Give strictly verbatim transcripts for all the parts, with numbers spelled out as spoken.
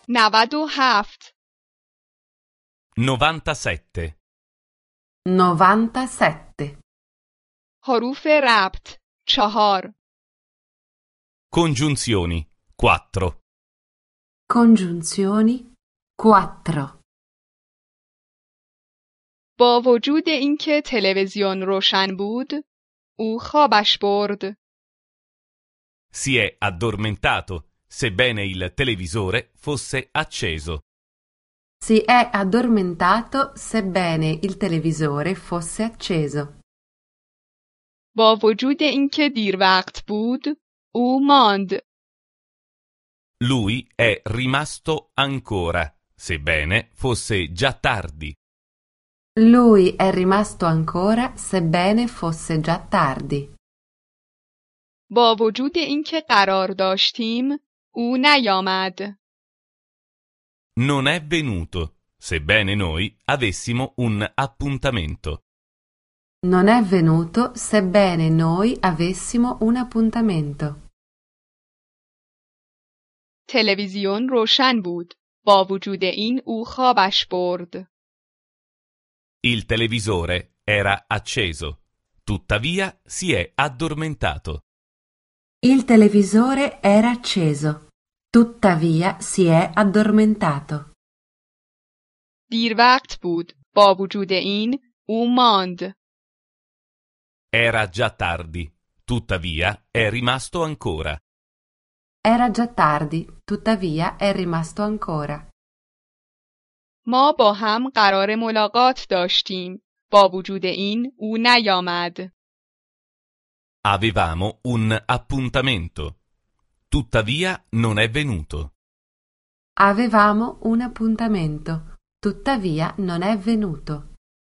نود و هفت. novantasette. novantasette. حروف ربط چهار. Congiunzioni quattro. Congiunzioni quattro. با وجود اینکه تلویزیون روشن بود، او خوابش برد. Si è addormentato, sebbene il televisore fosse acceso. Si è addormentato sebbene il televisore fosse acceso. با وجود اینکه دیر وقت بود، او ماند. Lui è rimasto ancora, sebbene fosse già tardi. Lui è rimasto ancora sebbene fosse già tardi. با وجود اینکه قرار داشتیم، او نیامد. Non è venuto, sebbene noi avessimo un appuntamento. Non è venuto sebbene noi avessimo un appuntamento. تلویزیون روشن بود. با وجود این او خوابش برد. Il televisore era acceso, tuttavia si è addormentato. Il televisore era acceso, tuttavia si è addormentato. دیر وقت بود. با وجود این او ماند. Era già tardi, tuttavia è rimasto ancora. Era già tardi, tuttavia è rimasto ancora. ما با هم قرار ملاقات داشتیم. با وجود این او نیامد. Avevamo un appuntamento, tuttavia non è venuto. Avevamo un appuntamento, tuttavia non è venuto.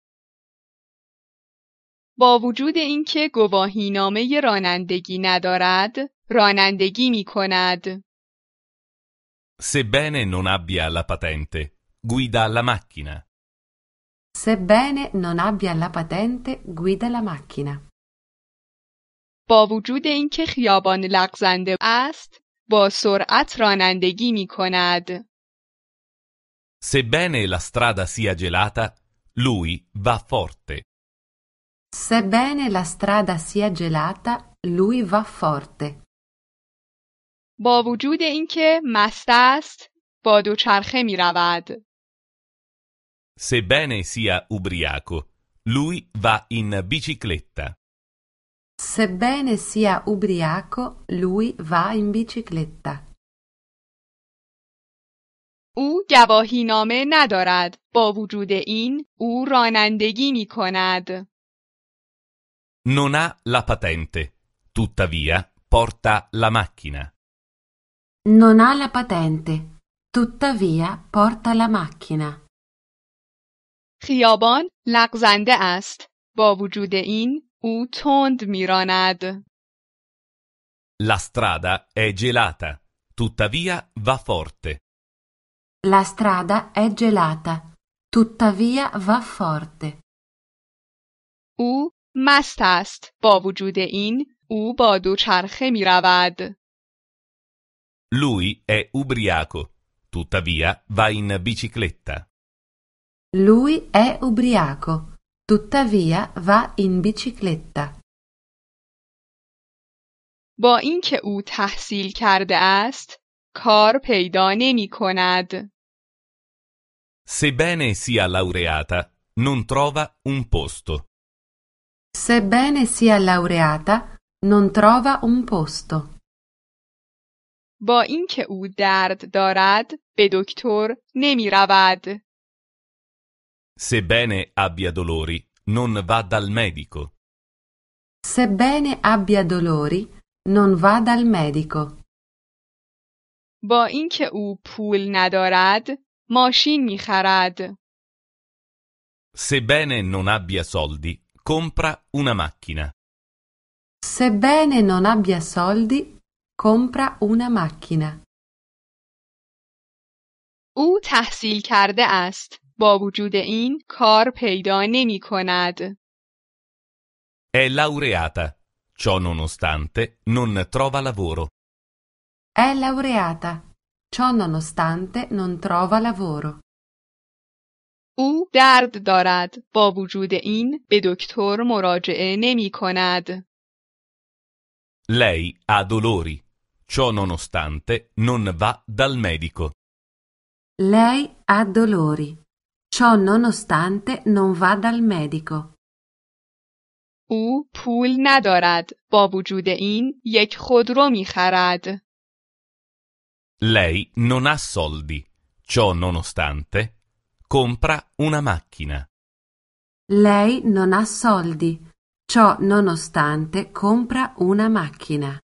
با وجود اینکه گواهینامه رانندگی ندارد، رانندگی می کند. Sebbene non abbia la patente, guida la macchina. Sebbene non abbia la patente, guida la macchina. با وجود اینکه خیابان لغزنده است، با سرعت رانندگی می کند. Sebbene la strada sia gelata, lui va forte. Sebbene la strada sia gelata, lui va forte. با وجود اینکه مست است، با دوچرخه می رود. Sebbene sia ubriaco, lui va in bicicletta. Sebbene sia ubriaco, lui va in bicicletta. او گواهینامه ندارد. با وجود این او رانندگی می کند. Non ha la patente, tuttavia porta la macchina. Non ha la patente, tuttavia porta la macchina. خیابان لغزنده است. با وجود این او تند می راند. La strada è gelata, tuttavia va forte. La strada è gelata, tuttavia va forte. او مست است. با وجود این او با دوچرخه می رود. Lui è ubriaco, tuttavia va in bicicletta. Lui è ubriaco, tuttavia va in bicicletta. با اینکه او تحصیل کرده است، کار پیدا نمی کند. Sebbene sia laureata, non trova un posto. Sebbene sia laureata, non trova un posto. با اینکه او درد دارد، به دکتر نمی رود. Sebbene abbia dolori, non va dal medico. Sebbene abbia dolori, non va dal medico. با اینکه او پول ندارد، ماشین می خرد. Sebbene non abbia soldi, compra una macchina. Sebbene non abbia soldi, compra una macchina. او تحصیل کرده است. با وجود این کار پیدا نمی کند. È laureata, ciò nonostante non trova lavoro. È laureata, ciò nonostante non trova lavoro. او درد دارد. با وجود این به دکتر مراجعه نمی کند. Lei ha dolori. Ciò nonostante non va dal medico. Lei ha dolori. Ciò nonostante non va dal medico. او پول ندارد. با وجود این یک خودرو می خرد. Lei non ha soldi. Ciò nonostante compra una macchina. Lei non ha soldi. Ciò nonostante compra una macchina.